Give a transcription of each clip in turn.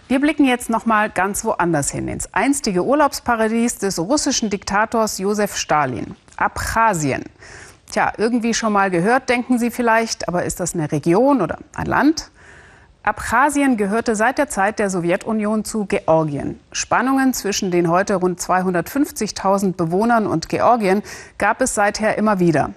Wir blicken jetzt noch mal ganz woanders hin, ins einstige Urlaubsparadies des russischen Diktators Josef Stalin, Abchasien. Tja, irgendwie schon mal gehört, denken Sie vielleicht, aber ist das eine Region oder ein Land? Abchasien gehörte seit der Zeit der Sowjetunion zu Georgien. Spannungen zwischen den heute rund 250.000 Bewohnern und Georgien gab es seither immer wieder.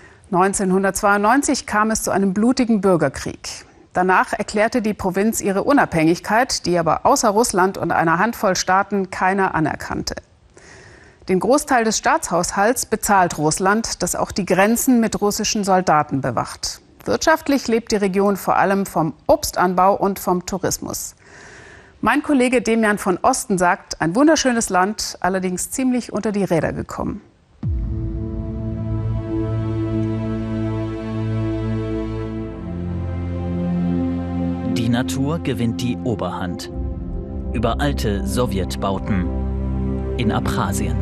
1992 kam es zu einem blutigen Bürgerkrieg. Danach erklärte die Provinz ihre Unabhängigkeit, die aber außer Russland und einer Handvoll Staaten keiner anerkannte. Den Großteil des Staatshaushalts bezahlt Russland, das auch die Grenzen mit russischen Soldaten bewacht. Wirtschaftlich lebt die Region vor allem vom Obstanbau und vom Tourismus. Mein Kollege Demian von Osten sagt, ein wunderschönes Land, allerdings ziemlich unter die Räder gekommen. Die Natur gewinnt die Oberhand. Über alte Sowjetbauten in Abchasien.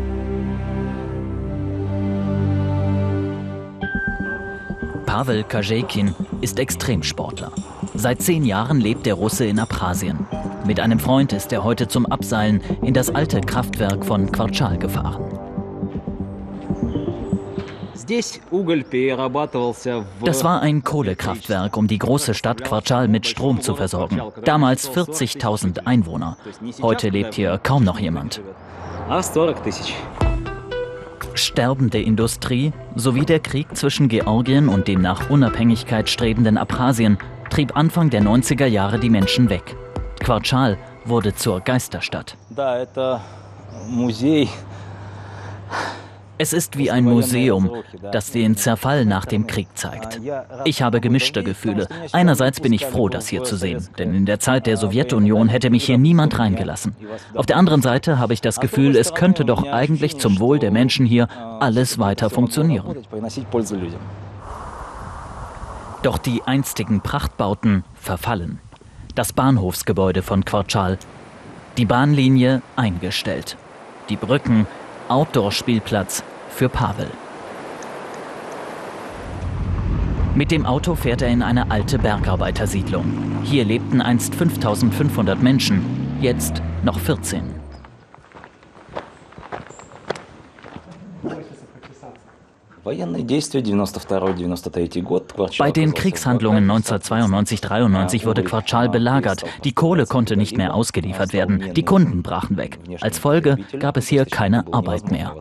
Pawel Kazhekin ist Extremsportler. Seit 10 Jahren lebt der Russe in Abchasien. Mit einem Freund ist er heute zum Abseilen in das alte Kraftwerk von Kvartschal gefahren. Das war ein Kohlekraftwerk, um die große Stadt Kvartschal mit Strom zu versorgen. Damals 40.000 Einwohner. Heute lebt hier kaum noch jemand. Sterbende Industrie sowie der Krieg zwischen Georgien und dem nach Unabhängigkeit strebenden Abchasien trieb Anfang der 90er Jahre die Menschen weg. Kvartschal wurde zur Geisterstadt. Es ist wie ein Museum, das den Zerfall nach dem Krieg zeigt. Ich habe gemischte Gefühle. Einerseits bin ich froh, das hier zu sehen, denn in der Zeit der Sowjetunion hätte mich hier niemand reingelassen. Auf der anderen Seite habe ich das Gefühl, es könnte doch eigentlich zum Wohl der Menschen hier alles weiter funktionieren. Doch die einstigen Prachtbauten verfallen. Das Bahnhofsgebäude von Kvartschal, die Bahnlinie eingestellt, die Brücken, Outdoor-Spielplatz für Pawel. Mit dem Auto fährt er in eine alte Bergarbeitersiedlung. Hier lebten einst 5.500 Menschen, jetzt noch 14. Bei den Kriegshandlungen 1992-93 wurde Kvartschal belagert. Die Kohle konnte nicht mehr ausgeliefert werden. Die Kunden brachen weg. Als Folge gab es hier keine Arbeit mehr.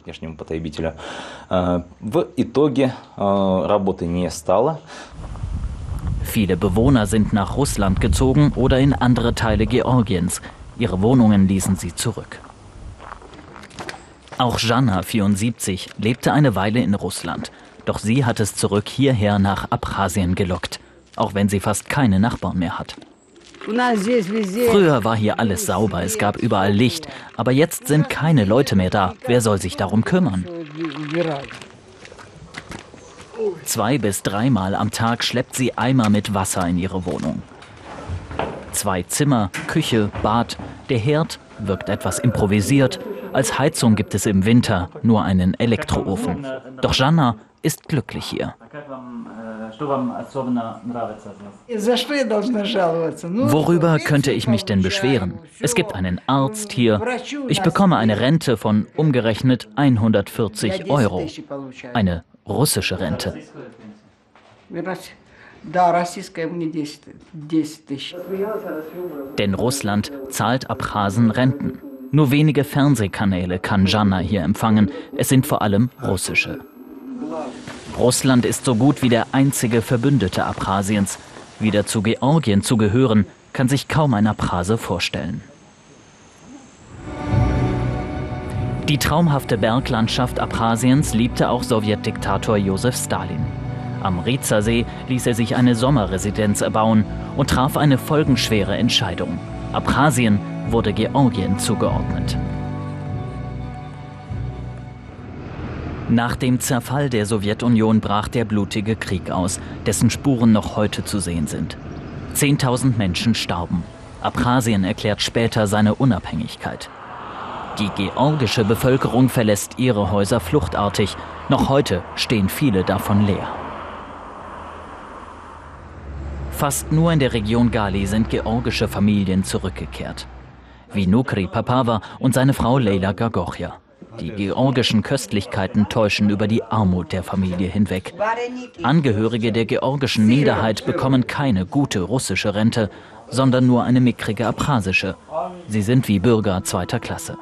Viele Bewohner sind nach Russland gezogen oder in andere Teile Georgiens. Ihre Wohnungen ließen sie zurück. Auch Jana, 74, lebte eine Weile in Russland. Doch sie hat es zurück hierher nach Abchasien gelockt, auch wenn sie fast keine Nachbarn mehr hat. Früher war hier alles sauber, es gab überall Licht, aber jetzt sind keine Leute mehr da. Wer soll sich darum kümmern? 2- bis 3-mal am Tag schleppt sie Eimer mit Wasser in ihre Wohnung. 2 Zimmer, Küche, Bad. Der Herd wirkt etwas improvisiert. Als Heizung gibt es im Winter nur einen Elektroofen. Doch Jana ist glücklich hier. Worüber könnte ich mich denn beschweren? Es gibt einen Arzt hier. Ich bekomme eine Rente von umgerechnet 140 Euro. Eine russische Rente. Denn Russland zahlt Abchasen Renten. Nur wenige Fernsehkanäle kann Jana hier empfangen. Es sind vor allem russische. Russland ist so gut wie der einzige Verbündete Abchasiens. Wieder zu Georgien zu gehören, kann sich kaum ein Abchase vorstellen. Die traumhafte Berglandschaft Abchasiens liebte auch Sowjetdiktator Josef Stalin. Am Riza-See ließ er sich eine Sommerresidenz erbauen und traf eine folgenschwere Entscheidung. Abchasien wurde Georgien zugeordnet. Nach dem Zerfall der Sowjetunion brach der blutige Krieg aus, dessen Spuren noch heute zu sehen sind. 10.000 Menschen starben. Abchasien erklärt später seine Unabhängigkeit. Die georgische Bevölkerung verlässt ihre Häuser fluchtartig. Noch heute stehen viele davon leer. Fast nur in der Region Gali sind georgische Familien zurückgekehrt. Wie Nukri Papava und seine Frau Leyla Gagochia. Die georgischen Köstlichkeiten täuschen über die Armut der Familie hinweg. Angehörige der georgischen Minderheit bekommen keine gute russische Rente, sondern nur eine mickrige abchasische. Sie sind wie Bürger zweiter Klasse.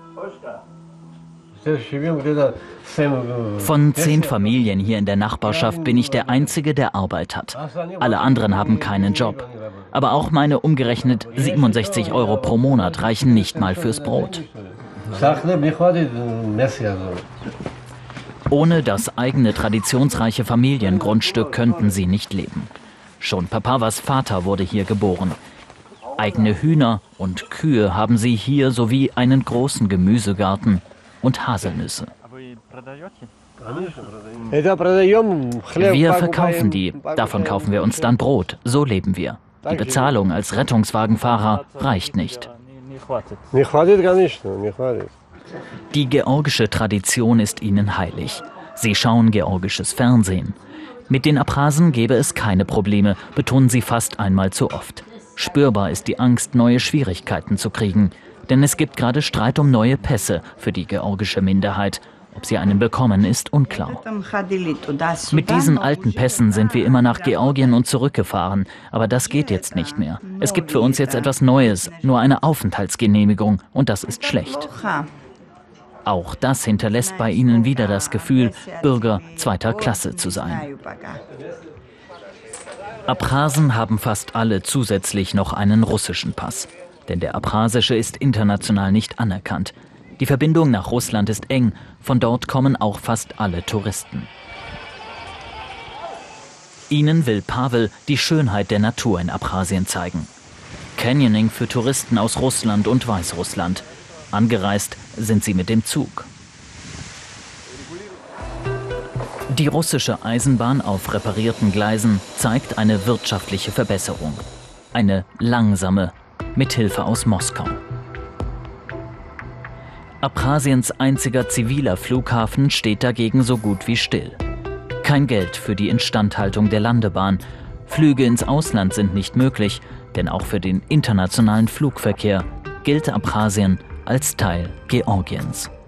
Von 10 Familien hier in der Nachbarschaft bin ich der Einzige, der Arbeit hat. Alle anderen haben keinen Job. Aber auch meine umgerechnet 67 € pro Monat reichen nicht mal fürs Brot. Ohne das eigene traditionsreiche Familiengrundstück könnten sie nicht leben. Schon Papavas Vater wurde hier geboren. Eigene Hühner und Kühe haben sie hier sowie einen großen Gemüsegarten und Haselnüsse. Wir verkaufen die, davon kaufen wir uns dann Brot, so leben wir. Die Bezahlung als Rettungswagenfahrer reicht nicht. Die georgische Tradition ist ihnen heilig. Sie schauen georgisches Fernsehen. Mit den Abchasen gäbe es keine Probleme, betonen sie fast einmal zu oft. Spürbar ist die Angst, neue Schwierigkeiten zu kriegen. Denn es gibt gerade Streit um neue Pässe für die georgische Minderheit. Ob sie einen bekommen, ist unklar. Mit diesen alten Pässen sind wir immer nach Georgien und zurückgefahren. Aber das geht jetzt nicht mehr. Es gibt für uns jetzt etwas Neues, nur eine Aufenthaltsgenehmigung. Und das ist schlecht. Auch das hinterlässt bei ihnen wieder das Gefühl, Bürger zweiter Klasse zu sein. Abchasen haben fast alle zusätzlich noch einen russischen Pass. Denn der abchasische ist international nicht anerkannt. Die Verbindung nach Russland ist eng, von dort kommen auch fast alle Touristen. Ihnen will Pavel die Schönheit der Natur in Abchasien zeigen. Canyoning für Touristen aus Russland und Weißrussland. Angereist sind sie mit dem Zug. Die russische Eisenbahn auf reparierten Gleisen zeigt eine wirtschaftliche Verbesserung. Eine langsame, mit Hilfe aus Moskau. Abchasiens einziger ziviler Flughafen steht dagegen so gut wie still. Kein Geld für die Instandhaltung der Landebahn. Flüge ins Ausland sind nicht möglich, denn auch für den internationalen Flugverkehr gilt Abchasien als Teil Georgiens.